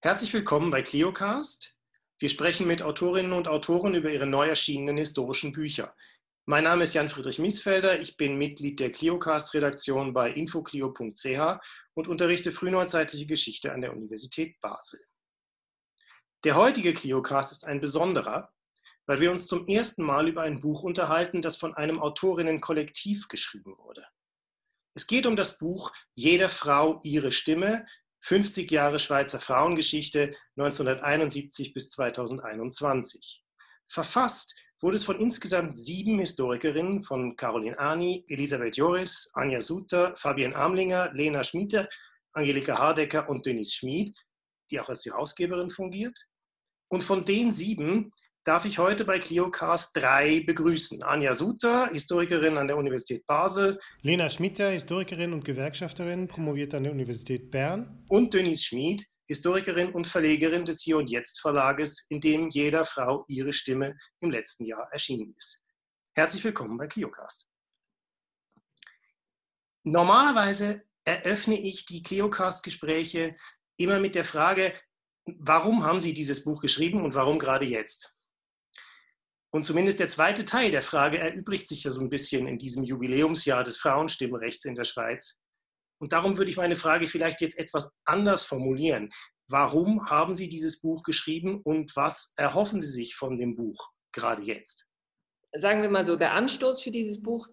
Herzlich willkommen bei ClioCast. Wir sprechen mit Autorinnen und Autoren über ihre neu erschienenen historischen Bücher. Mein Name ist Jan-Friedrich Miesfelder, ich bin Mitglied der ClioCast-Redaktion bei infoclio.ch und unterrichte frühneuzeitliche Geschichte an der Universität Basel. Der heutige ClioCast ist ein besonderer, weil wir uns zum ersten Mal über ein Buch unterhalten, das von einem Autorinnenkollektiv geschrieben wurde. Es geht um das Buch Jeder Frau ihre Stimme, 50 Jahre Schweizer Frauengeschichte 1971 bis 2021. Verfasst wurde es von insgesamt 7 Historikerinnen, von Caroline Ani, Elisabeth Joris, Anja Suter, Fabienne Amlinger, Lena Schmiede, Angelika Hardecker und Denise Schmid, die auch als Herausgeberin fungiert. Und von den 7 darf ich heute bei ClioCast 3 begrüßen. Anja Suter, Historikerin an der Universität Basel. Lena Schmiede, Historikerin und Gewerkschafterin, promoviert an der Universität Bern. Und Denise Schmid, Historikerin und Verlegerin des Hier und Jetzt Verlages, in dem Jeder Frau ihre Stimme im letzten Jahr erschienen ist. Herzlich willkommen bei ClioCast. Normalerweise eröffne ich die ClioCast-Gespräche immer mit der Frage, warum haben Sie dieses Buch geschrieben und warum gerade jetzt? Und zumindest der zweite Teil der Frage erübrigt sich ja so ein bisschen in diesem Jubiläumsjahr des Frauenstimmrechts in der Schweiz. Und darum würde ich meine Frage vielleicht jetzt etwas anders formulieren. Warum haben Sie dieses Buch geschrieben und was erhoffen Sie sich von dem Buch gerade jetzt? Sagen wir mal so, der Anstoß für dieses Buch,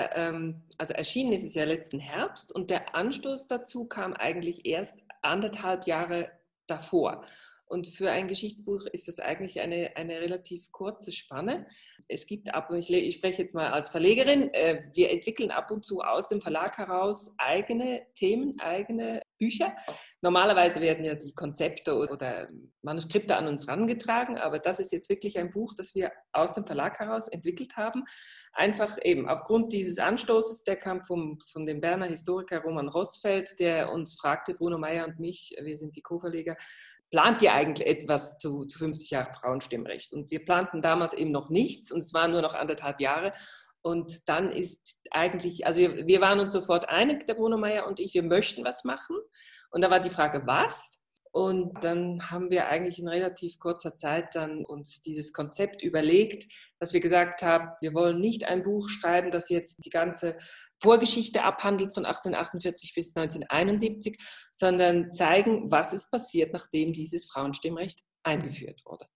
also erschienen ist es ja letzten Herbst, und der Anstoß dazu kam eigentlich erst 1,5 Jahre davor. Und für ein Geschichtsbuch ist das eigentlich eine relativ kurze Spanne. Es gibt ich spreche jetzt mal als Verlegerin, wir entwickeln ab und zu aus dem Verlag heraus eigene Themen, eigene Bücher. Normalerweise werden ja die Konzepte oder Manuskripte an uns herangetragen, aber das ist jetzt wirklich ein Buch, das wir aus dem Verlag heraus entwickelt haben. Einfach eben aufgrund dieses Anstoßes, der kam von dem Berner Historiker Roman Rossfeld, der uns fragte, Bruno Meyer und mich, wir sind die Co-Verleger, plant ihr eigentlich etwas zu 50 Jahren Frauenstimmrecht? Und wir planten damals eben noch nichts und es waren nur noch 1,5 Jahre. Und dann ist eigentlich, also wir waren uns sofort einig, der Bruno Meyer und ich, wir möchten was machen. Und da war die Frage, was? Und dann haben wir eigentlich in relativ kurzer Zeit dann uns dieses Konzept überlegt, dass wir gesagt haben, wir wollen nicht ein Buch schreiben, das jetzt die ganze Vorgeschichte abhandelt von 1848 bis 1971, sondern zeigen, was ist passiert, nachdem dieses Frauenstimmrecht eingeführt wurde.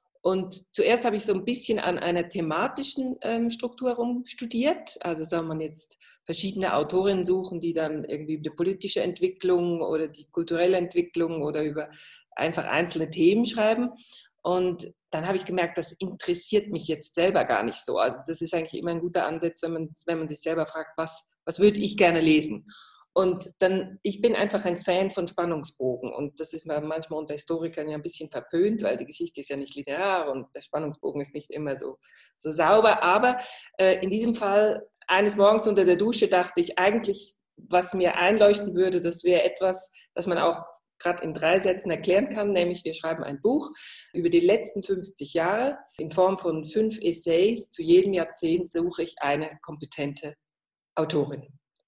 Und zuerst habe ich so ein bisschen an einer thematischen Struktur rumstudiert. Also soll man jetzt verschiedene Autorinnen suchen, die dann irgendwie über die politische Entwicklung oder die kulturelle Entwicklung oder über einfach einzelne Themen schreiben. Und dann habe ich gemerkt, das interessiert mich jetzt selber gar nicht so. Also das ist eigentlich immer ein guter Ansatz, wenn man sich selber fragt, was würde ich gerne lesen? Und dann, ich bin einfach ein Fan von Spannungsbogen und das ist manchmal unter Historikern ja ein bisschen verpönt, weil die Geschichte ist ja nicht linear und der Spannungsbogen ist nicht immer so sauber. Aber in diesem Fall, eines Morgens unter der Dusche, dachte ich eigentlich, was mir einleuchten würde, das wäre etwas, das man auch gerade in 3 Sätzen erklären kann, nämlich wir schreiben ein Buch über die letzten 50 Jahre in Form von 5 Essays. Zu jedem Jahrzehnt suche ich eine kompetente Autorin.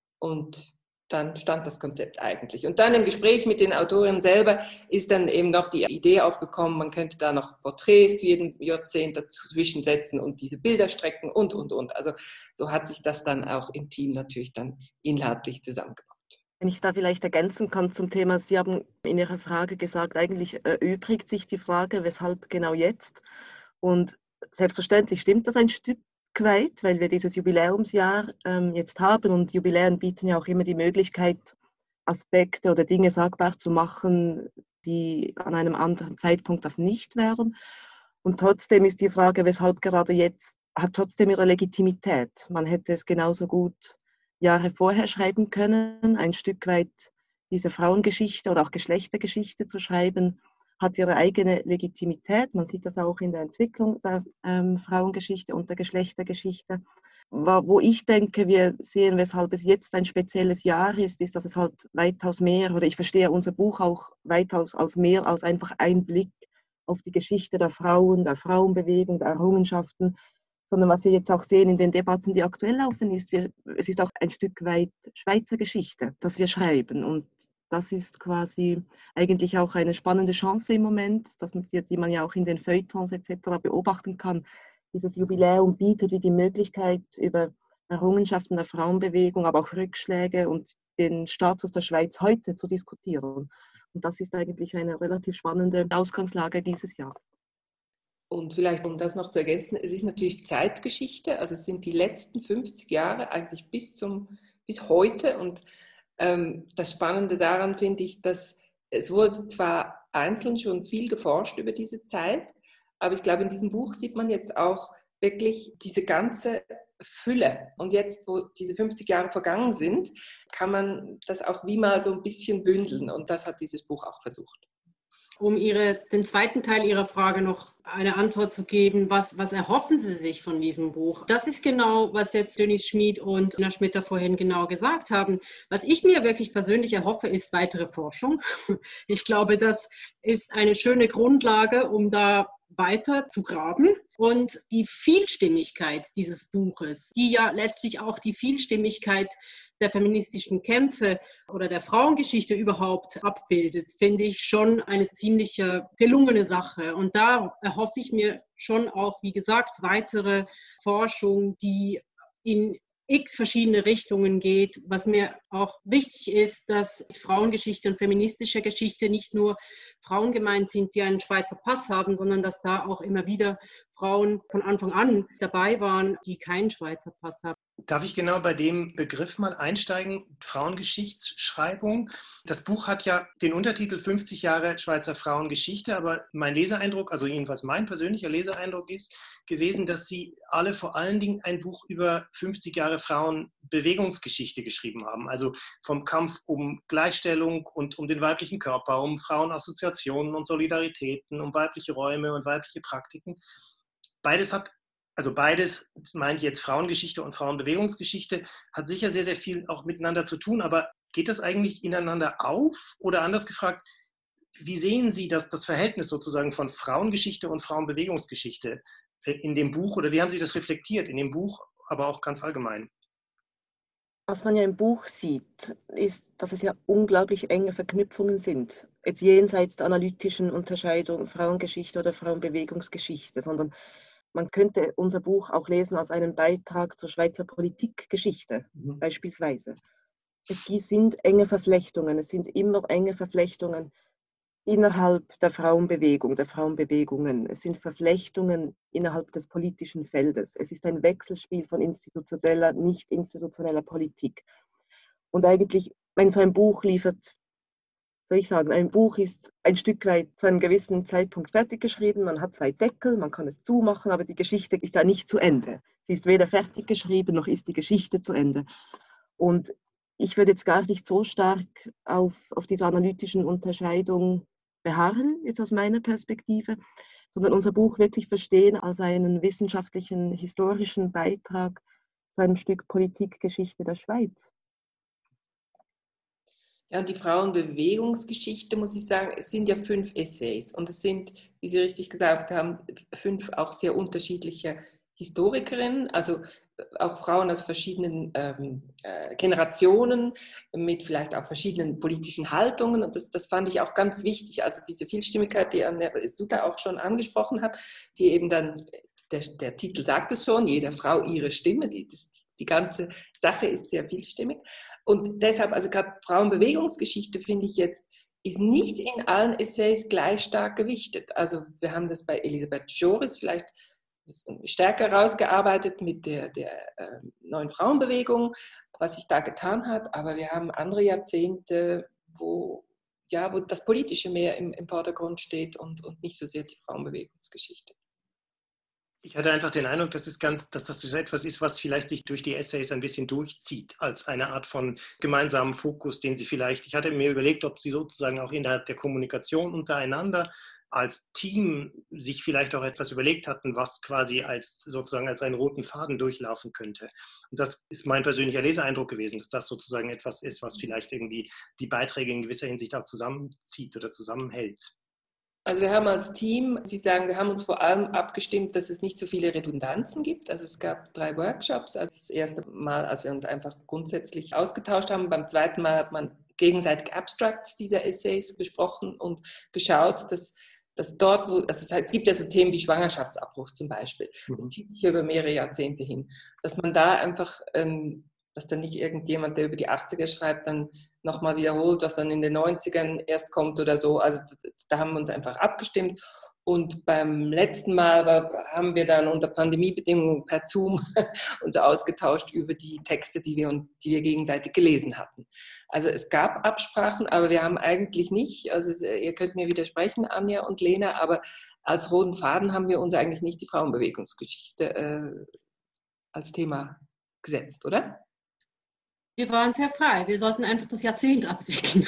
Und dann stand das Konzept eigentlich. Und dann im Gespräch mit den Autorinnen selber ist dann eben noch die Idee aufgekommen, man könnte da noch Porträts zu jedem Jahrzehnt dazwischen setzen und diese Bilder strecken und. Also so hat sich das dann auch im Team natürlich dann inhaltlich zusammengebaut. Wenn ich da vielleicht ergänzen kann zum Thema, Sie haben in Ihrer Frage gesagt, eigentlich erübrigt sich die Frage, weshalb genau jetzt? Und selbstverständlich stimmt das ein Stück weit, weil wir dieses Jubiläumsjahr jetzt haben und Jubiläen bieten ja auch immer die Möglichkeit, Aspekte oder Dinge sagbar zu machen, die an einem anderen Zeitpunkt das nicht wären. Und trotzdem ist die Frage, weshalb gerade jetzt, hat trotzdem ihre Legitimität. Man hätte es genauso gut Jahre vorher schreiben können, ein Stück weit diese Frauengeschichte oder auch Geschlechtergeschichte zu schreiben, hat ihre eigene Legitimität. Man sieht das auch in der Entwicklung der Frauengeschichte und der Geschlechtergeschichte. Wo ich denke, wir sehen, weshalb es jetzt ein spezielles Jahr ist, dass es halt weitaus mehr, oder ich verstehe unser Buch auch weitaus als mehr als einfach ein Blick auf die Geschichte der Frauen, der Frauenbewegung, der Errungenschaften, sondern was wir jetzt auch sehen in den Debatten, die aktuell laufen, ist, es ist auch ein Stück weit Schweizer Geschichte, das wir schreiben. Und das ist quasi eigentlich auch eine spannende Chance im Moment, die man ja auch in den Feuilletons etc. beobachten kann. Dieses Jubiläum bietet wie die Möglichkeit, über Errungenschaften der Frauenbewegung, aber auch Rückschläge und den Status der Schweiz heute zu diskutieren. Und das ist eigentlich eine relativ spannende Ausgangslage dieses Jahr. Und vielleicht, um das noch zu ergänzen, es ist natürlich Zeitgeschichte, also es sind die letzten 50 Jahre eigentlich bis heute. Und das Spannende daran finde ich, dass es wurde zwar einzeln schon viel geforscht über diese Zeit, aber ich glaube, in diesem Buch sieht man jetzt auch wirklich diese ganze Fülle. Und jetzt, wo diese 50 Jahre vergangen sind, kann man das auch wie mal so ein bisschen bündeln. Und das hat dieses Buch auch versucht. Um den zweiten Teil Ihrer Frage noch eine Antwort zu geben, was erhoffen Sie sich von diesem Buch? Das ist genau, was jetzt Dönis Schmid und Anna Schmitter vorhin genau gesagt haben. Was ich mir wirklich persönlich erhoffe, ist weitere Forschung. Ich glaube, das ist eine schöne Grundlage, um da weiter zu graben. Und die Vielstimmigkeit dieses Buches, die ja letztlich auch die Vielstimmigkeit der feministischen Kämpfe oder der Frauengeschichte überhaupt abbildet, finde ich schon eine ziemlich gelungene Sache. Und da erhoffe ich mir schon auch, wie gesagt, weitere Forschung, die in x verschiedene Richtungen geht. Was mir auch wichtig ist, dass Frauengeschichte und feministische Geschichte nicht nur Frauen gemeint sind, die einen Schweizer Pass haben, sondern dass da auch immer wieder Frauen von Anfang an dabei waren, die keinen Schweizer Pass haben. Darf ich genau bei dem Begriff mal einsteigen? Frauengeschichtsschreibung. Das Buch hat ja den Untertitel 50 Jahre Schweizer Frauengeschichte, aber mein Leseeindruck, also jedenfalls mein persönlicher Leseeindruck ist gewesen, dass Sie alle vor allen Dingen ein Buch über 50 Jahre Frauenbewegungsgeschichte geschrieben haben. Also vom Kampf um Gleichstellung und um den weiblichen Körper, um Frauenassoziationen und Solidaritäten, um weibliche Räume und weibliche Praktiken. Beides, meine ich jetzt Frauengeschichte und Frauenbewegungsgeschichte, hat sicher sehr, sehr viel auch miteinander zu tun, aber geht das eigentlich ineinander auf? Oder anders gefragt, wie sehen Sie das Verhältnis sozusagen von Frauengeschichte und Frauenbewegungsgeschichte in dem Buch oder wie haben Sie das reflektiert in dem Buch, aber auch ganz allgemein? Was man ja im Buch sieht, ist, dass es ja unglaublich enge Verknüpfungen sind. Jetzt jenseits der analytischen Unterscheidung Frauengeschichte oder Frauenbewegungsgeschichte, sondern man könnte unser Buch auch lesen als einen Beitrag zur Schweizer Politikgeschichte, beispielsweise. Es sind enge Verflechtungen, es sind immer enge Verflechtungen innerhalb der Frauenbewegung, der Frauenbewegungen. Es sind Verflechtungen innerhalb des politischen Feldes. Es ist ein Wechselspiel von institutioneller, nicht institutioneller Politik. Und eigentlich, wenn so ein Buch liefert, soll ich sagen, ein Buch ist ein Stück weit zu einem gewissen Zeitpunkt fertig geschrieben. Man hat 2 Deckel, man kann es zumachen, aber die Geschichte ist ja nicht zu Ende. Sie ist weder fertig geschrieben, noch ist die Geschichte zu Ende. Und ich würde jetzt gar nicht so stark auf diese analytischen Unterscheidungen beharren, jetzt aus meiner Perspektive, sondern unser Buch wirklich verstehen als einen wissenschaftlichen, historischen Beitrag zu einem Stück Politikgeschichte der Schweiz. Ja, und die Frauenbewegungsgeschichte, muss ich sagen, es sind ja 5 Essays und es sind, wie Sie richtig gesagt haben, 5 auch sehr unterschiedliche Historikerinnen, also auch Frauen aus verschiedenen Generationen mit vielleicht auch verschiedenen politischen Haltungen und das fand ich auch ganz wichtig, also diese Vielstimmigkeit, die Anna Sutter auch schon angesprochen hat, die eben dann, der Titel sagt es schon, jeder Frau ihre Stimme, die ganze Sache ist sehr vielstimmig und deshalb, also gerade Frauenbewegungsgeschichte finde ich jetzt, ist nicht in allen Essays gleich stark gewichtet. Also wir haben das bei Elisabeth Joris vielleicht stärker rausgearbeitet mit der neuen Frauenbewegung, was sich da getan hat, aber wir haben andere Jahrzehnte, wo das Politische mehr im Vordergrund steht und nicht so sehr die Frauenbewegungsgeschichte. Ich hatte einfach den Eindruck, dass das so etwas ist, was vielleicht sich durch die Essays ein bisschen durchzieht, als eine Art von gemeinsamen Fokus, den Sie vielleicht, ich hatte mir überlegt, ob Sie sozusagen auch innerhalb der Kommunikation untereinander als Team sich vielleicht auch etwas überlegt hatten, was quasi als einen roten Faden durchlaufen könnte. Und das ist mein persönlicher Leseeindruck gewesen, dass das sozusagen etwas ist, was vielleicht irgendwie die Beiträge in gewisser Hinsicht auch zusammenzieht oder zusammenhält. Also wir haben als Team, Sie sagen, wir haben uns vor allem abgestimmt, dass es nicht so viele Redundanzen gibt. Also es gab 3 Workshops. Also das erste Mal, als wir uns einfach grundsätzlich ausgetauscht haben. Beim zweiten Mal hat man gegenseitige Abstracts dieser Essays besprochen und geschaut, dass dort, es gibt ja so Themen wie Schwangerschaftsabbruch zum Beispiel, das zieht sich über mehrere Jahrzehnte hin, dass man da einfach, dass dann nicht irgendjemand, der über die 80er schreibt, dann nochmal wiederholt, was dann in den 90ern erst kommt oder so. Also da haben wir uns einfach abgestimmt. Und beim letzten Mal haben wir dann unter Pandemiebedingungen per Zoom uns ausgetauscht über die Texte, die wir gegenseitig gelesen hatten. Also es gab Absprachen, aber wir haben eigentlich nicht, also ihr könnt mir widersprechen, Anja und Lena, aber als roten Faden haben wir uns eigentlich nicht die Frauenbewegungsgeschichte als Thema gesetzt, oder? Wir waren sehr frei. Wir sollten einfach das Jahrzehnt abwickeln.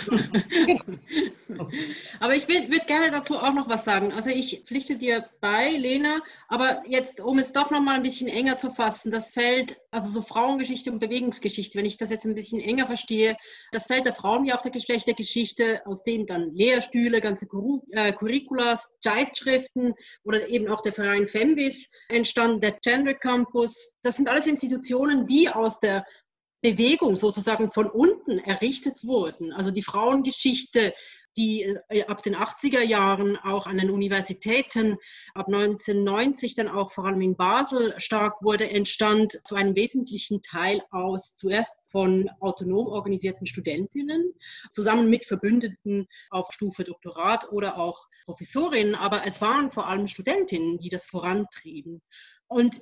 Aber ich würde gerne dazu auch noch was sagen. Also ich pflichte dir bei, Lena, aber jetzt, um es doch noch mal ein bisschen enger zu fassen, das Feld, also so Frauengeschichte und Bewegungsgeschichte, wenn ich das jetzt ein bisschen enger verstehe, das Feld der Frauen wie auch der Geschlechtergeschichte, aus dem dann Lehrstühle, ganze Curriculas, Zeitschriften oder eben auch der Verein Femvis entstanden, der Gender Campus, das sind alles Institutionen, die aus der Bewegung sozusagen von unten errichtet wurden. Also die Frauengeschichte, die ab den 80er Jahren auch an den Universitäten, ab 1990 dann auch vor allem in Basel stark wurde, entstand zu einem wesentlichen Teil aus zuerst von autonom organisierten Studentinnen, zusammen mit Verbündeten auf Stufe Doktorat oder auch Professorinnen, aber es waren vor allem Studentinnen, die das vorantrieben. Und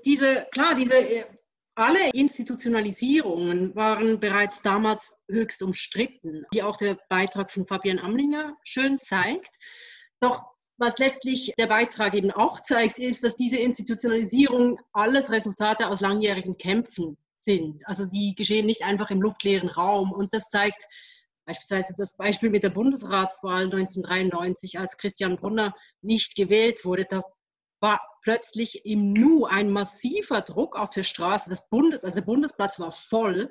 alle Institutionalisierungen waren bereits damals höchst umstritten, wie auch der Beitrag von Fabian Amlinger schön zeigt. Doch was letztlich der Beitrag eben auch zeigt, ist, dass diese Institutionalisierung alles Resultate aus langjährigen Kämpfen sind. Also sie geschehen nicht einfach im luftleeren Raum. Und das zeigt beispielsweise das Beispiel mit der Bundesratswahl 1993, als Christian Brunner nicht gewählt wurde. Das war plötzlich im Nu ein massiver Druck auf der Straße. Der Bundesplatz war voll.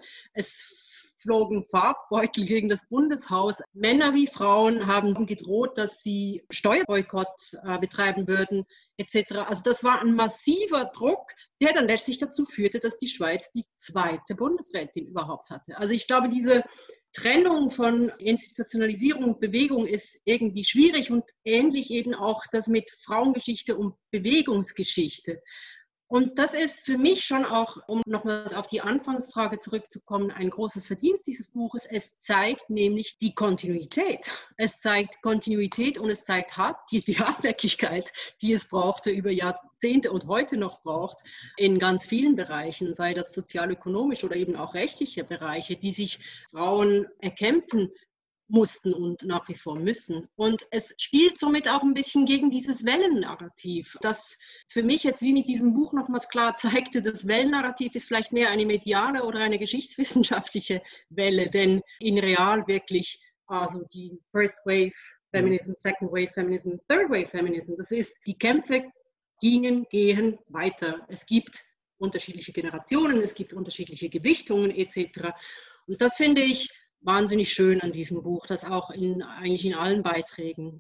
Es flogen Farbbeutel gegen das Bundeshaus. Männer wie Frauen haben gedroht, dass sie Steuerboykott betreiben würden, etc. Also das war ein massiver Druck, der dann letztlich dazu führte, dass die Schweiz die zweite Bundesrätin überhaupt hatte. Also ich glaube, diese Trennung von Institutionalisierung und Bewegung ist irgendwie schwierig und ähnlich eben auch das mit Frauengeschichte und Bewegungsgeschichte. Und das ist für mich schon auch, um nochmals auf die Anfangsfrage zurückzukommen, ein großes Verdienst dieses Buches. Es zeigt nämlich die Kontinuität. Es zeigt Kontinuität und es zeigt die Hartnäckigkeit, die es brauchte über Jahrzehnte und heute noch braucht, in ganz vielen Bereichen, sei das sozial-ökonomisch oder eben auch rechtliche Bereiche, die sich Frauen erkämpfen mussten und nach wie vor müssen. Und es spielt somit auch ein bisschen gegen dieses Wellennarrativ, das für mich jetzt wie mit diesem Buch nochmals klar zeigte, das Wellennarrativ ist vielleicht mehr eine mediale oder eine geschichtswissenschaftliche Welle, denn in real wirklich also die First Wave Feminism, Second Wave Feminism, Third Wave Feminism, das ist, die Kämpfe gehen weiter. Es gibt unterschiedliche Generationen, es gibt unterschiedliche Gewichtungen etc. Und das finde ich wahnsinnig schön an diesem Buch, das auch eigentlich in allen Beiträgen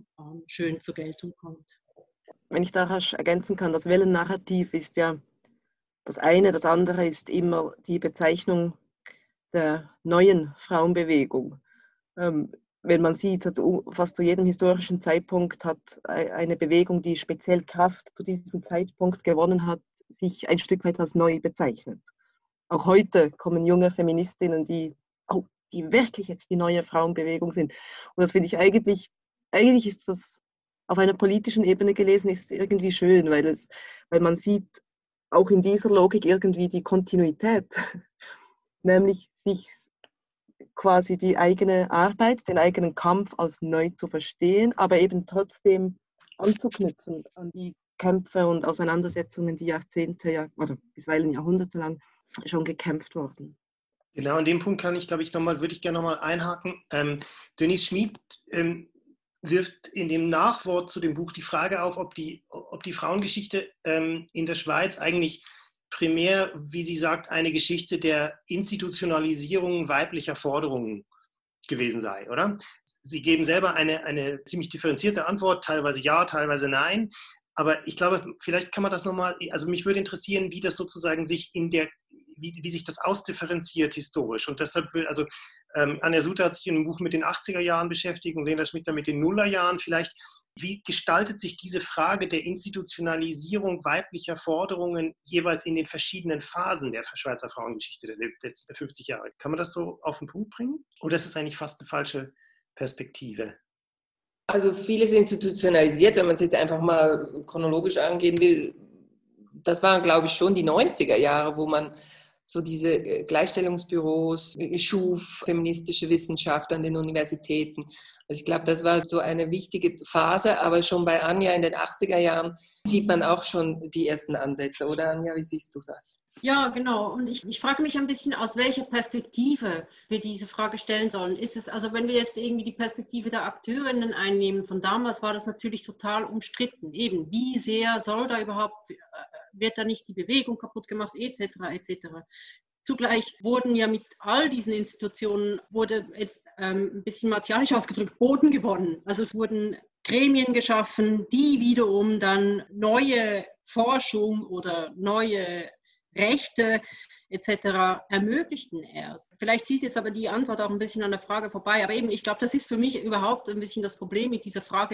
schön zur Geltung kommt. Wenn ich da rasch ergänzen kann, das Wellennarrativ ist ja das eine, das andere ist immer die Bezeichnung der neuen Frauenbewegung. Wenn man sieht, fast zu jedem historischen Zeitpunkt hat eine Bewegung, die speziell Kraft zu diesem Zeitpunkt gewonnen hat, sich ein Stück weit als neu bezeichnet. Auch heute kommen junge Feministinnen, die wirklich jetzt die neue Frauenbewegung sind. Und das finde ich eigentlich ist das auf einer politischen Ebene gelesen, ist irgendwie schön, weil man sieht auch in dieser Logik irgendwie die Kontinuität, nämlich sich quasi die eigene Arbeit, den eigenen Kampf als neu zu verstehen, aber eben trotzdem anzuknüpfen an die Kämpfe und Auseinandersetzungen, die Jahrzehnte, also bisweilen Jahrhunderte lang schon gekämpft wurden. Genau, an dem Punkt würde ich gerne nochmal einhaken. Denise Schmid wirft in dem Nachwort zu dem Buch die Frage auf, ob die Frauengeschichte in der Schweiz eigentlich primär, wie sie sagt, eine Geschichte der Institutionalisierung weiblicher Forderungen gewesen sei, oder? Sie geben selber eine ziemlich differenzierte Antwort, teilweise ja, teilweise nein. Aber ich glaube, vielleicht kann man das nochmal, also mich würde interessieren, wie das sozusagen sich wie sich das ausdifferenziert historisch. Und deshalb Anja Suter hat sich in einem Buch mit den 80er Jahren beschäftigt und Lena Schmitter mit den Nullerjahren. Vielleicht, wie gestaltet sich diese Frage der Institutionalisierung weiblicher Forderungen jeweils in den verschiedenen Phasen der Schweizer Frauengeschichte der letzten 50 Jahre? Kann man das so auf den Punkt bringen? Oder ist es eigentlich fast eine falsche Perspektive? Also vieles institutionalisiert, wenn man es jetzt einfach mal chronologisch angehen will. Das waren, glaube ich, schon die 90er Jahre, wo man so diese Gleichstellungsbüros schuf, feministische Wissenschaft an den Universitäten. Also ich glaube, das war so eine wichtige Phase, aber schon bei Anja in den 80er Jahren sieht man auch schon die ersten Ansätze, oder Anja, wie siehst du das? Ja, genau. Und ich frage mich ein bisschen, aus welcher Perspektive wir diese Frage stellen sollen. Ist es, also wenn wir jetzt irgendwie die Perspektive der Akteurinnen einnehmen, von damals war das natürlich total umstritten. Eben, wie sehr soll da überhaupt, wird da nicht die Bewegung kaputt gemacht, etc., etc. Zugleich wurden ja mit all diesen Institutionen, wurde jetzt ein bisschen martialisch ausgedrückt, Boden gewonnen. Also es wurden Gremien geschaffen, die wiederum dann neue Forschung oder neue Rechte etc. ermöglichten erst. Vielleicht zielt jetzt aber die Antwort auch ein bisschen an der Frage vorbei. Aber eben, ich glaube, das ist für mich überhaupt ein bisschen das Problem mit dieser Frage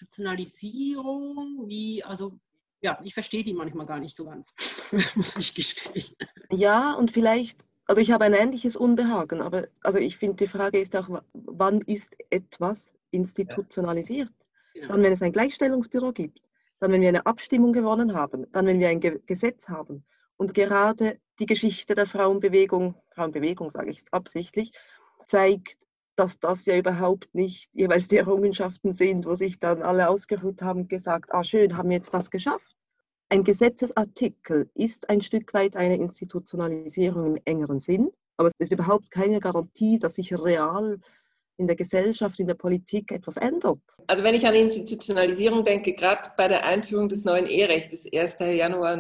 Institutionalisierung. Ja, ich verstehe die manchmal gar nicht so ganz, muss ich gestehen. Ja, und vielleicht, also ich habe ein ähnliches Unbehagen, aber also ich finde, die Frage ist auch, wann ist etwas institutionalisiert? Ja. Dann, wenn es ein Gleichstellungsbüro gibt, dann, wenn wir eine Abstimmung gewonnen haben, dann, wenn wir ein Gesetz haben. Und gerade die Geschichte der Frauenbewegung sage ich jetzt absichtlich, zeigt, dass das ja überhaupt nicht jeweils die Errungenschaften sind, wo sich dann alle ausgeruht haben und gesagt, schön, haben wir jetzt das geschafft. Ein Gesetzesartikel ist ein Stück weit eine Institutionalisierung im engeren Sinn, aber es ist überhaupt keine Garantie, dass sich real in der Gesellschaft, in der Politik etwas ändert. Also wenn ich an Institutionalisierung denke, gerade bei der Einführung des neuen Eherechts, 1. Januar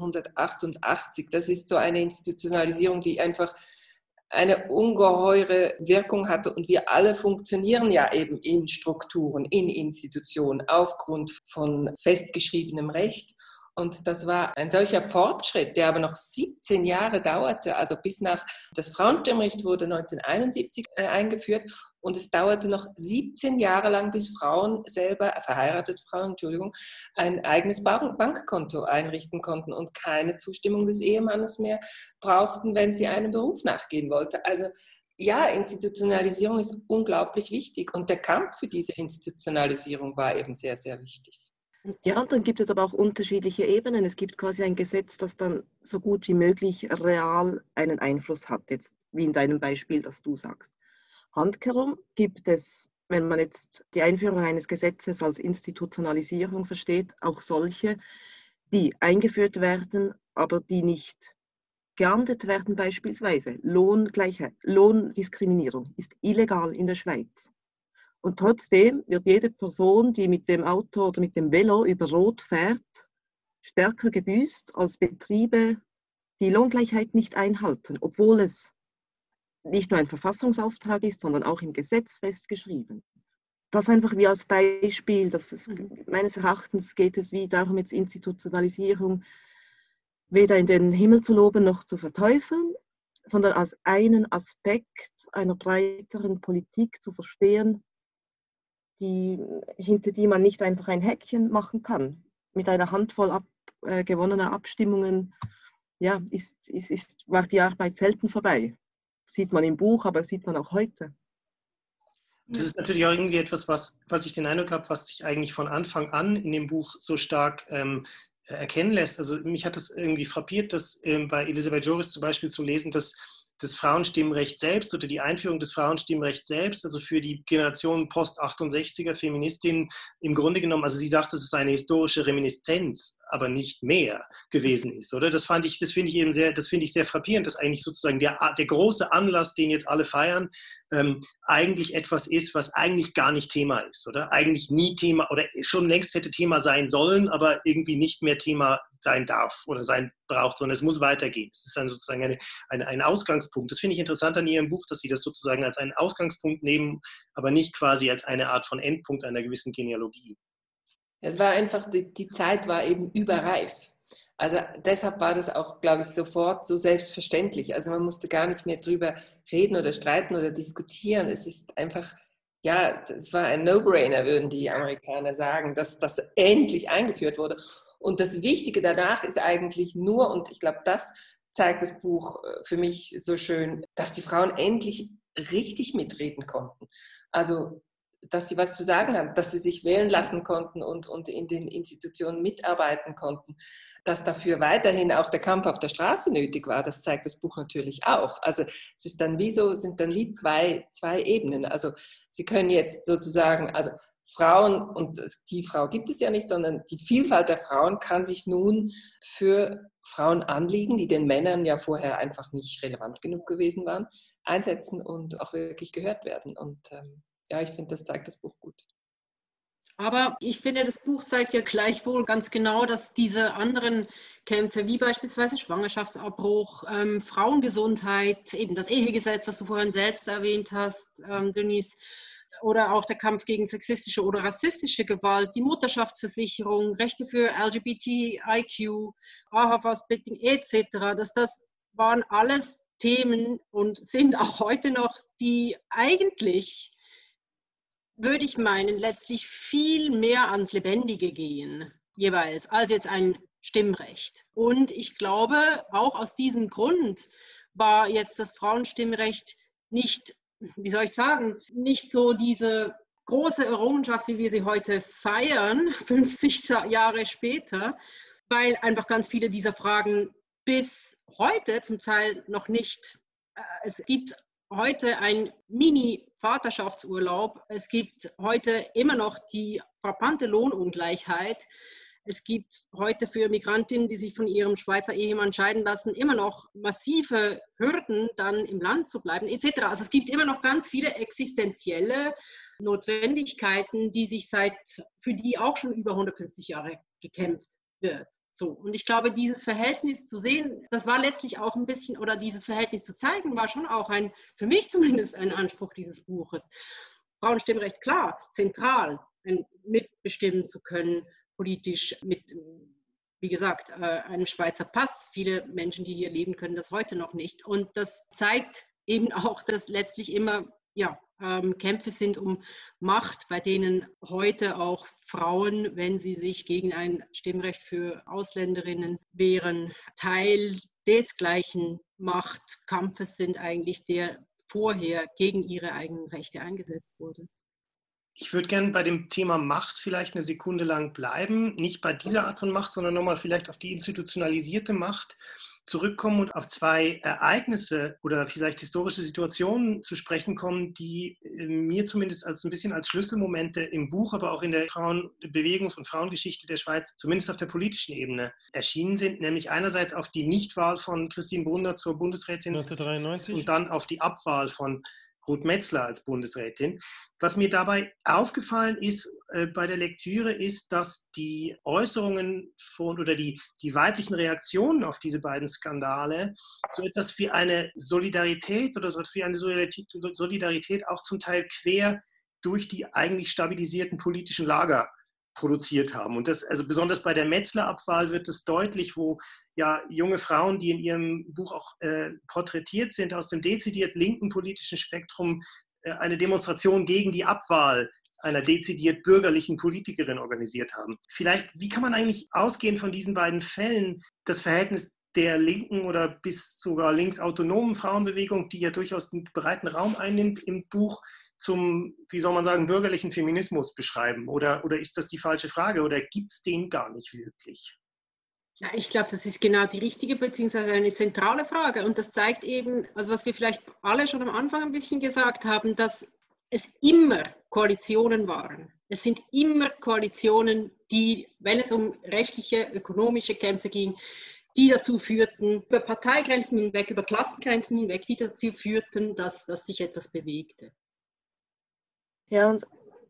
1988, das ist so eine Institutionalisierung, die einfach eine ungeheure Wirkung hatte und wir alle funktionieren ja eben in Strukturen, in Institutionen aufgrund von festgeschriebenem Recht. Und das war ein solcher Fortschritt, der aber noch 17 Jahre dauerte, also das Frauenstimmrecht wurde 1971 eingeführt und es dauerte noch 17 Jahre lang, bis Frauen selber, verheiratete Frauen, ein eigenes Bankkonto einrichten konnten und keine Zustimmung des Ehemannes mehr brauchten, wenn sie einem Beruf nachgehen wollten. Also ja, Institutionalisierung ist unglaublich wichtig und der Kampf für diese Institutionalisierung war eben sehr, sehr wichtig. Ja, und dann gibt es aber auch unterschiedliche Ebenen. Es gibt quasi ein Gesetz, das dann so gut wie möglich real einen Einfluss hat, jetzt wie in deinem Beispiel, das du sagst. Handkehrum gibt es, wenn man jetzt die Einführung eines Gesetzes als Institutionalisierung versteht, auch solche, die eingeführt werden, aber die nicht geahndet werden beispielsweise. Lohngleichheit, Lohndiskriminierung ist illegal in der Schweiz. Und trotzdem wird jede Person, die mit dem Auto oder mit dem Velo über Rot fährt, stärker gebüßt als Betriebe, die Lohngleichheit nicht einhalten, obwohl es nicht nur ein Verfassungsauftrag ist, sondern auch im Gesetz festgeschrieben. Das einfach wie als Beispiel, meines Erachtens geht es wie darum, jetzt Institutionalisierung weder in den Himmel zu loben noch zu verteufeln, sondern als einen Aspekt einer breiteren Politik zu verstehen, hinter die man nicht einfach ein Häkchen machen kann. Mit einer Handvoll gewonnener Abstimmungen war die Arbeit selten vorbei. Das sieht man im Buch, aber das sieht man auch heute. Das ist natürlich auch irgendwie etwas, was ich den Eindruck habe, was sich eigentlich von Anfang an in dem Buch so stark erkennen lässt. Also mich hat das irgendwie frappiert, dass bei Elisabeth Joris zum Beispiel zu lesen, dass das Frauenstimmrecht selbst oder die Einführung des Frauenstimmrechts selbst, also für die Generation Post-68er Feministinnen im Grunde genommen, also sie sagt, es ist eine historische Reminiszenz, aber nicht mehr gewesen ist, oder? Das finde ich sehr frappierend, dass eigentlich sozusagen der große Anlass, den jetzt alle feiern, eigentlich etwas ist, was eigentlich gar nicht Thema ist, oder? Eigentlich nie Thema oder schon längst hätte Thema sein sollen, aber irgendwie nicht mehr Thema sein darf oder sein braucht, sondern es muss weitergehen. Es ist dann sozusagen ein Ausgangspunkt. Das finde ich interessant an Ihrem Buch, dass Sie das sozusagen als einen Ausgangspunkt nehmen, aber nicht quasi als eine Art von Endpunkt einer gewissen Genealogie. Es war einfach, die Zeit war eben überreif. Also deshalb war das auch, glaube ich, sofort so selbstverständlich. Also man musste gar nicht mehr drüber reden oder streiten oder diskutieren. Es ist einfach, ja, es war ein No-Brainer, würden die Amerikaner sagen, dass das endlich eingeführt wurde. Und das Wichtige danach ist eigentlich nur, und ich glaube, das zeigt das Buch für mich so schön, dass die Frauen endlich richtig mitreden konnten. Also dass sie was zu sagen haben, dass sie sich wählen lassen konnten und in den Institutionen mitarbeiten konnten. Dass dafür weiterhin auch der Kampf auf der Straße nötig war, das zeigt das Buch natürlich auch. Also es ist dann sind dann wie zwei Ebenen. Also sie können jetzt sozusagen, also Frauen, und die Frau gibt es ja nicht, sondern die Vielfalt der Frauen kann sich nun für Frauen anliegen, die den Männern ja vorher einfach nicht relevant genug gewesen waren, einsetzen und auch wirklich gehört werden. Und ja, ich finde, das zeigt das Buch gut. Aber ich finde, das Buch zeigt ja gleichwohl ganz genau, dass diese anderen Kämpfe, wie beispielsweise Schwangerschaftsabbruch, Frauengesundheit, eben das Ehegesetz, das du vorhin selbst erwähnt hast, Denise, oder auch der Kampf gegen sexistische oder rassistische Gewalt, die Mutterschaftsversicherung, Rechte für LGBTIQ, AHV-Splitting etc., das waren alles Themen und sind auch heute noch, die eigentlich, würde ich meinen, letztlich viel mehr ans Lebendige gehen, jeweils, als jetzt ein Stimmrecht. Und ich glaube, auch aus diesem Grund war jetzt das Frauenstimmrecht nicht, wie soll ich sagen, nicht so diese große Errungenschaft, wie wir sie heute feiern, 50 Jahre später, weil einfach ganz viele dieser Fragen bis heute zum Teil noch nicht, es gibt heute ein Mini-Vaterschaftsurlaub. Es gibt heute immer noch die frappante Lohnungleichheit. Es gibt heute für Migrantinnen, die sich von ihrem Schweizer Ehemann scheiden lassen, immer noch massive Hürden, dann im Land zu bleiben, etc. Also es gibt immer noch ganz viele existenzielle Notwendigkeiten, für die auch schon über 150 Jahre gekämpft wird. So, und ich glaube, dieses Verhältnis zu sehen, das war letztlich auch ein bisschen, oder dieses Verhältnis zu zeigen, war schon auch für mich zumindest ein Anspruch dieses Buches. Frauenstimmrecht, klar, zentral, mitbestimmen zu können, politisch wie gesagt, einem Schweizer Pass. Viele Menschen, die hier leben, können das heute noch nicht. Und das zeigt eben auch, dass letztlich immer, ja, Kämpfe sind um Macht, bei denen heute auch Frauen, wenn sie sich gegen ein Stimmrecht für Ausländerinnen wehren, Teil des gleichen Machtkampfes sind eigentlich, der vorher gegen ihre eigenen Rechte eingesetzt wurde. Ich würde gerne bei dem Thema Macht vielleicht eine Sekunde lang bleiben. Nicht bei dieser Art von Macht, sondern nochmal vielleicht auf die institutionalisierte Macht zurückkommen und auf zwei Ereignisse oder vielleicht historische Situationen zu sprechen kommen, die mir zumindest ein bisschen als Schlüsselmomente im Buch, aber auch in der Frauenbewegungs- und Frauengeschichte der Schweiz, zumindest auf der politischen Ebene, erschienen sind. Nämlich einerseits auf die Nichtwahl von Christine Brunner zur Bundesrätin 1993 und dann auf die Abwahl von Ruth Metzler als Bundesrätin. Was mir dabei aufgefallen ist bei der Lektüre, ist, dass die Äußerungen oder die weiblichen Reaktionen auf diese beiden Skandale so etwas wie eine Solidarität oder so etwas wie eine Solidarität auch zum Teil quer durch die eigentlich stabilisierten politischen Lager produziert haben. Und das, also besonders bei der Metzler-Abwahl wird es deutlich, wo ja junge Frauen, die in ihrem Buch auch porträtiert sind, aus dem dezidiert linken politischen Spektrum eine Demonstration gegen die Abwahl einer dezidiert bürgerlichen Politikerin organisiert haben. Vielleicht, wie kann man eigentlich ausgehend von diesen beiden Fällen das Verhältnis der linken oder bis sogar linksautonomen Frauenbewegung, die ja durchaus einen breiten Raum einnimmt im Buch, zum, wie soll man sagen, bürgerlichen Feminismus beschreiben? Oder ist das die falsche Frage? Oder gibt es den gar nicht wirklich? Ja, ich glaube, das ist genau die richtige bzw. eine zentrale Frage. Und das zeigt eben, also was wir vielleicht alle schon am Anfang ein bisschen gesagt haben, dass es immer Koalitionen waren. Es sind immer Koalitionen, die, wenn es um rechtliche, ökonomische Kämpfe ging, die dazu führten, über Parteigrenzen hinweg, über Klassengrenzen hinweg, die dazu führten, dass sich etwas bewegte. Ja, und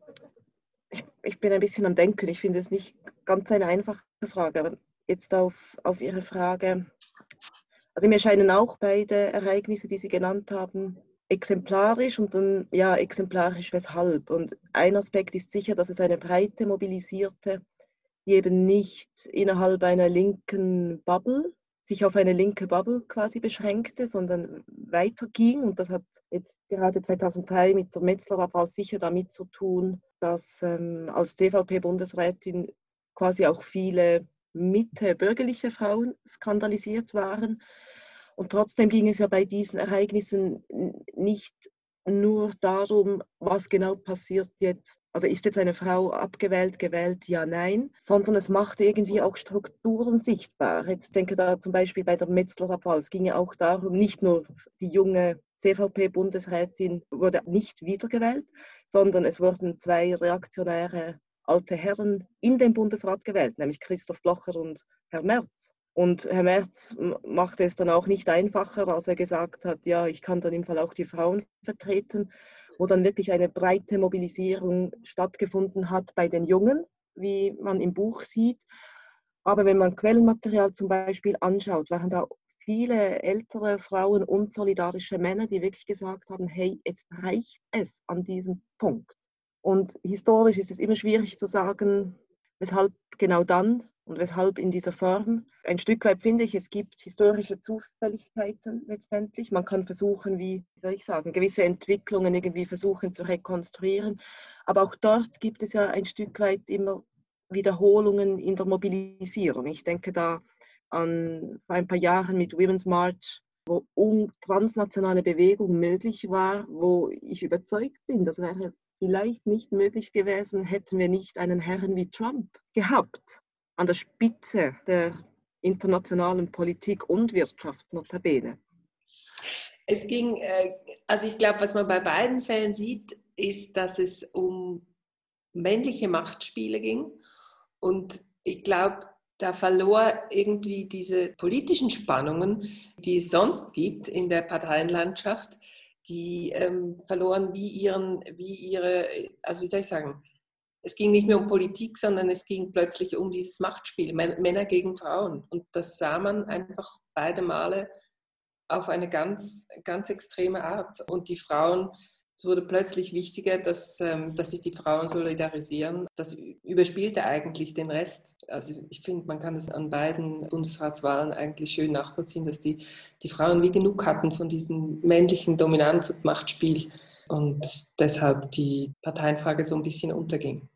ich bin ein bisschen am Denken. Ich finde es nicht ganz eine einfache Frage, aber jetzt auf Ihre Frage. Also mir scheinen auch beide Ereignisse, die Sie genannt haben, exemplarisch und dann, ja, exemplarisch weshalb. Und ein Aspekt ist sicher, dass es eine breite, mobilisierte die eben nicht innerhalb einer linken Bubble, sich auf eine linke Bubble quasi beschränkte, sondern weiterging. Und das hat jetzt gerade 2003 mit der Metzler-Abwahl sicher damit zu tun, dass als CVP-Bundesrätin quasi auch viele Mitte-bürgerliche Frauen skandalisiert waren. Und trotzdem ging es ja bei diesen Ereignissen nicht nur darum, was genau passiert jetzt. Also ist jetzt eine Frau abgewählt, gewählt, ja, nein, sondern es macht irgendwie auch Strukturen sichtbar. Jetzt denke da zum Beispiel bei der Metzler-Abwahl, es ging ja auch darum, nicht nur die junge CVP-Bundesrätin wurde nicht wiedergewählt, sondern es wurden 2 reaktionäre alte Herren in den Bundesrat gewählt, nämlich Christoph Blocher und Herr Merz. Und Herr Merz machte es dann auch nicht einfacher, als er gesagt hat, ja, ich kann dann im Fall auch die Frauen vertreten, wo dann wirklich eine breite Mobilisierung stattgefunden hat bei den Jungen, wie man im Buch sieht. Aber wenn man Quellenmaterial zum Beispiel anschaut, waren da viele ältere Frauen und solidarische Männer, die wirklich gesagt haben, hey, jetzt reicht es an diesem Punkt. Und historisch ist es immer schwierig zu sagen, weshalb genau dann und weshalb in dieser Form. Ein Stück weit finde ich, es gibt historische Zufälligkeiten letztendlich. Man kann versuchen, wie soll ich sagen, gewisse Entwicklungen irgendwie versuchen zu rekonstruieren. Aber auch dort gibt es ja ein Stück weit immer Wiederholungen in der Mobilisierung. Ich denke da an vor ein paar Jahren mit Women's March, wo transnationale Bewegung möglich war, wo ich überzeugt bin, das wäre vielleicht nicht möglich gewesen, hätten wir nicht einen Herrn wie Trump gehabt, an der Spitze der internationalen Politik und Wirtschaft notabene. Es ging, also ich glaube, was man bei beiden Fällen sieht, ist, dass es um männliche Machtspiele ging. Und ich glaube, da verlor irgendwie diese politischen Spannungen, die es sonst gibt in der Parteienlandschaft, die verloren also wie soll ich sagen, es ging nicht mehr um Politik, sondern es ging plötzlich um dieses Machtspiel, Männer gegen Frauen. Und das sah man einfach beide Male auf eine ganz, ganz extreme Art. Und die Frauen, es wurde plötzlich wichtiger, dass sich die Frauen solidarisieren. Das überspielte eigentlich den Rest. Also ich finde, man kann es an beiden Bundesratswahlen eigentlich schön nachvollziehen, dass die Frauen wie genug hatten von diesem männlichen Dominanz- und Machtspiel und deshalb die Parteienfrage so ein bisschen unterging.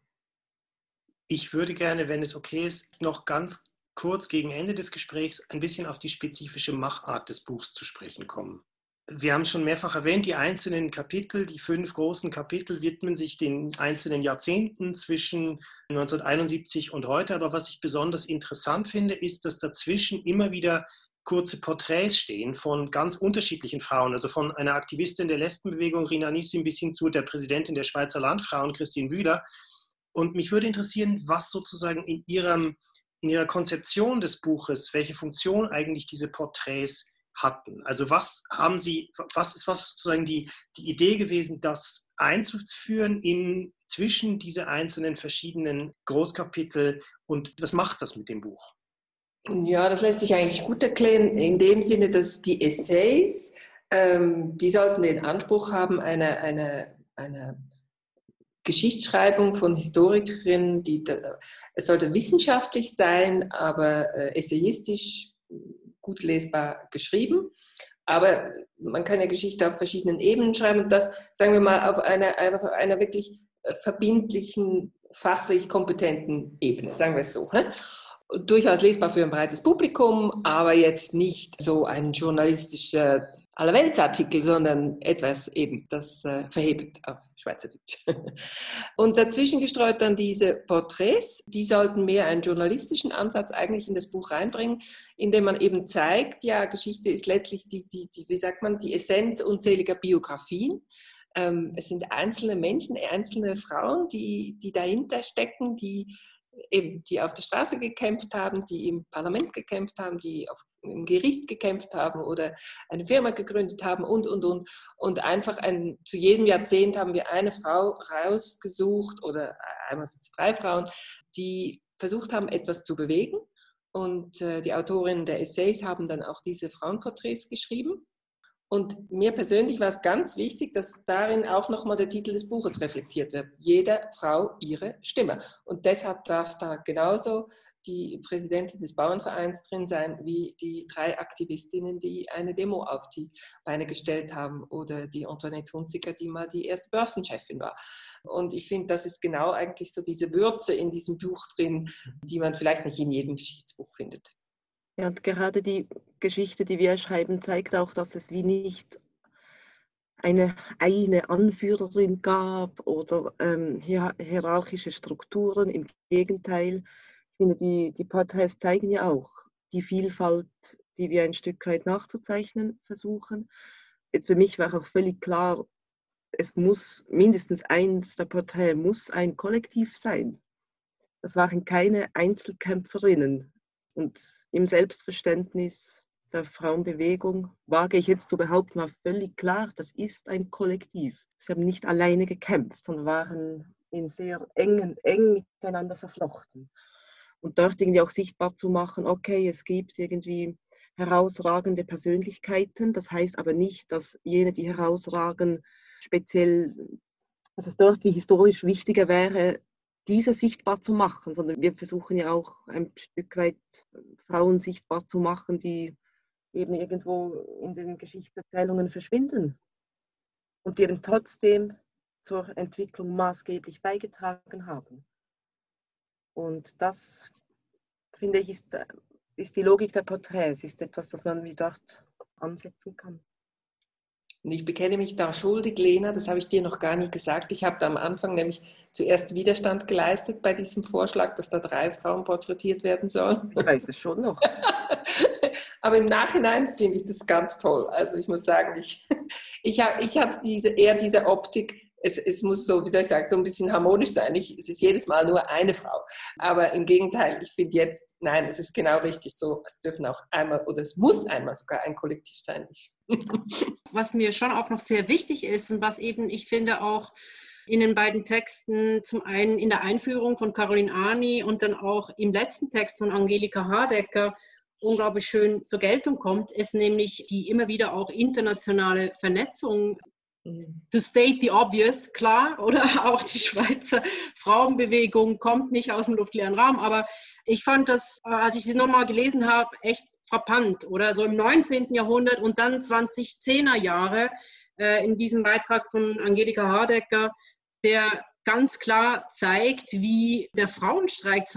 Ich würde gerne, wenn es okay ist, noch ganz kurz gegen Ende des Gesprächs ein bisschen auf die spezifische Machart des Buchs zu sprechen kommen. Wir haben schon mehrfach erwähnt, die einzelnen Kapitel, die 5 großen Kapitel widmen sich den einzelnen Jahrzehnten zwischen 1971 und heute. Aber was ich besonders interessant finde, ist, dass dazwischen immer wieder kurze Porträts stehen von ganz unterschiedlichen Frauen, also von einer Aktivistin der Lesbenbewegung, Rina Nissim, bis hin zu der Präsidentin der Schweizer Landfrauen, Christine Bühler. Und mich würde interessieren, was sozusagen in ihrer Konzeption des Buches, welche Funktion eigentlich diese Porträts hatten. Also was ist sozusagen die Idee gewesen, das einzuführen zwischen diese einzelnen verschiedenen Großkapitel und was macht das mit dem Buch? Ja, das lässt sich eigentlich gut erklären, in dem Sinne, dass die Essays, die sollten den Anspruch haben, eine Geschichtsschreibung von Historikerinnen, es sollte wissenschaftlich sein, aber essayistisch gut lesbar geschrieben. Aber man kann ja Geschichte auf verschiedenen Ebenen schreiben und das, sagen wir mal, auf einer wirklich verbindlichen, fachlich kompetenten Ebene, sagen wir es so. Durchaus lesbar für ein breites Publikum, aber jetzt nicht so ein journalistischer Allerweltsartikel, sondern etwas eben, das verhebt auf Schweizerdeutsch. Und dazwischen gestreut dann diese Porträts, die sollten mehr einen journalistischen Ansatz eigentlich in das Buch reinbringen, indem man eben zeigt, ja, Geschichte ist letztlich die Essenz unzähliger Biografien. Es sind einzelne Menschen, einzelne Frauen, die dahinter stecken, die auf der Straße gekämpft haben, die im Parlament gekämpft haben, die im Gericht gekämpft haben oder eine Firma gegründet haben und. Und einfach zu jedem Jahrzehnt haben wir eine Frau rausgesucht oder einmal sind es 3 Frauen, die versucht haben, etwas zu bewegen. Und die Autorinnen der Essays haben dann auch diese Frauenporträts geschrieben. Und mir persönlich war es ganz wichtig, dass darin auch nochmal der Titel des Buches reflektiert wird. Jeder Frau ihre Stimme. Und deshalb darf da genauso die Präsidentin des Bauernvereins drin sein, wie die 3 Aktivistinnen, die eine Demo auf die Beine gestellt haben, oder die Antoinette Hunziker, die mal die erste Börsenchefin war. Und ich finde, das ist genau eigentlich so diese Würze in diesem Buch drin, die man vielleicht nicht in jedem Geschichtsbuch findet. Ja, und gerade die Geschichte, die wir schreiben, zeigt auch, dass es wie nicht eine Anführerin gab oder hierarchische Strukturen. Im Gegenteil, ich finde, die Porträts zeigen ja auch die Vielfalt, die wir ein Stück weit nachzuzeichnen versuchen. Jetzt für mich war auch völlig klar, es muss mindestens eins der Porträts muss ein Kollektiv sein. Das waren keine Einzelkämpferinnen. Und im Selbstverständnis der Frauenbewegung wage ich jetzt zu behaupten, war völlig klar, das ist ein Kollektiv. Sie haben nicht alleine gekämpft, sondern waren sehr eng miteinander verflochten. Und dort irgendwie auch sichtbar zu machen, okay, es gibt irgendwie herausragende Persönlichkeiten, das heißt aber nicht, dass jene, die herausragen, speziell, dass es dort wie historisch wichtiger wäre, diese sichtbar zu machen, sondern wir versuchen ja auch ein Stück weit Frauen sichtbar zu machen, die eben irgendwo in den Geschichtserzählungen verschwinden und die eben trotzdem zur Entwicklung maßgeblich beigetragen haben. Und das, finde ich, ist die Logik der Porträts, ist etwas, das man wie dort ansetzen kann. Und ich bekenne mich da schuldig, Lena, das habe ich dir noch gar nicht gesagt. Ich habe da am Anfang nämlich zuerst Widerstand geleistet bei diesem Vorschlag, dass da 3 Frauen porträtiert werden sollen. Ich weiß es schon noch. Aber im Nachhinein finde ich das ganz toll. Also ich muss sagen, ich hatte eher diese Optik, es muss so, wie soll ich sagen, so ein bisschen harmonisch sein. Es ist jedes Mal nur eine Frau. Aber im Gegenteil, ich finde jetzt, nein, es ist genau richtig so. Es dürfen auch einmal, oder es muss einmal sogar ein Kollektiv sein. Was mir schon auch noch sehr wichtig ist und was eben, ich finde, auch in den beiden Texten, zum einen in der Einführung von Caroline Arni und dann auch im letzten Text von Angelika Hardecker unglaublich schön zur Geltung kommt, ist nämlich die immer wieder auch internationale Vernetzung. To state the obvious, klar, oder auch die Schweizer Frauenbewegung kommt nicht aus dem luftleeren Raum, aber ich fand das, als ich sie nochmal gelesen habe, echt frappant, oder so im 19. Jahrhundert und dann 2010er Jahre in diesem Beitrag von Angelika Hardecker, der ganz klar zeigt, wie der Frauenstreik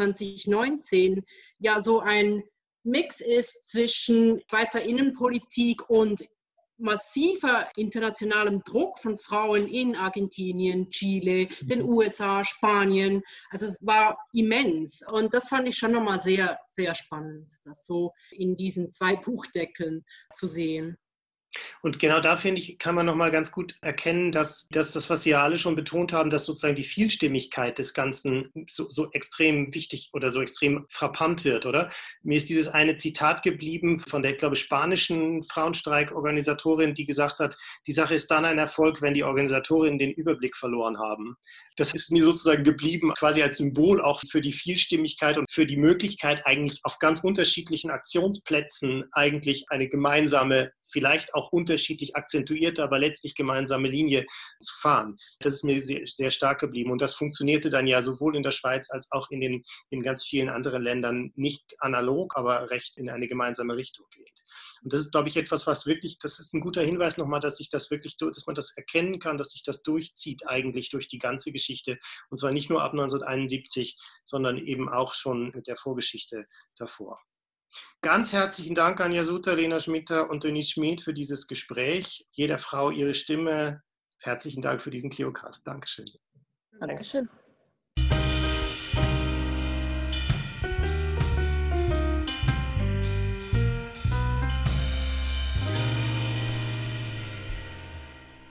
2019 ja so ein Mix ist zwischen Schweizer Innenpolitik und massiver internationalem Druck von Frauen in Argentinien, Chile, den USA, Spanien. Also es war immens. Und das fand ich schon nochmal sehr, sehr spannend, das so in diesen 2 Buchdeckeln zu sehen. Und genau da, finde ich, kann man nochmal ganz gut erkennen, dass das, was Sie ja alle schon betont haben, dass sozusagen die Vielstimmigkeit des Ganzen so extrem wichtig oder so extrem frappant wird, oder? Mir ist dieses eine Zitat geblieben von der, ich glaube, spanischen Frauenstreikorganisatorin, die gesagt hat, die Sache ist dann ein Erfolg, wenn die Organisatorinnen den Überblick verloren haben. Das ist mir sozusagen geblieben, quasi als Symbol auch für die Vielstimmigkeit und für die Möglichkeit, eigentlich auf ganz unterschiedlichen Aktionsplätzen eigentlich eine gemeinsame, vielleicht auch unterschiedlich akzentuierte, aber letztlich gemeinsame Linie zu fahren. Das ist mir sehr, sehr stark geblieben. Und das funktionierte dann ja sowohl in der Schweiz als auch in ganz vielen anderen Ländern nicht analog, aber recht in eine gemeinsame Richtung geht. Und das ist, glaube ich, etwas, was wirklich, das ist ein guter Hinweis nochmal, dass man das erkennen kann, dass sich das durchzieht eigentlich durch die ganze Geschichte. Und zwar nicht nur ab 1971, sondern eben auch schon mit der Vorgeschichte davor. Ganz herzlichen Dank an Jasuta, Lena Schmitter und Denise Schmid für dieses Gespräch. Jeder Frau ihre Stimme. Herzlichen Dank für diesen ClioCast. Dankeschön. Dankeschön.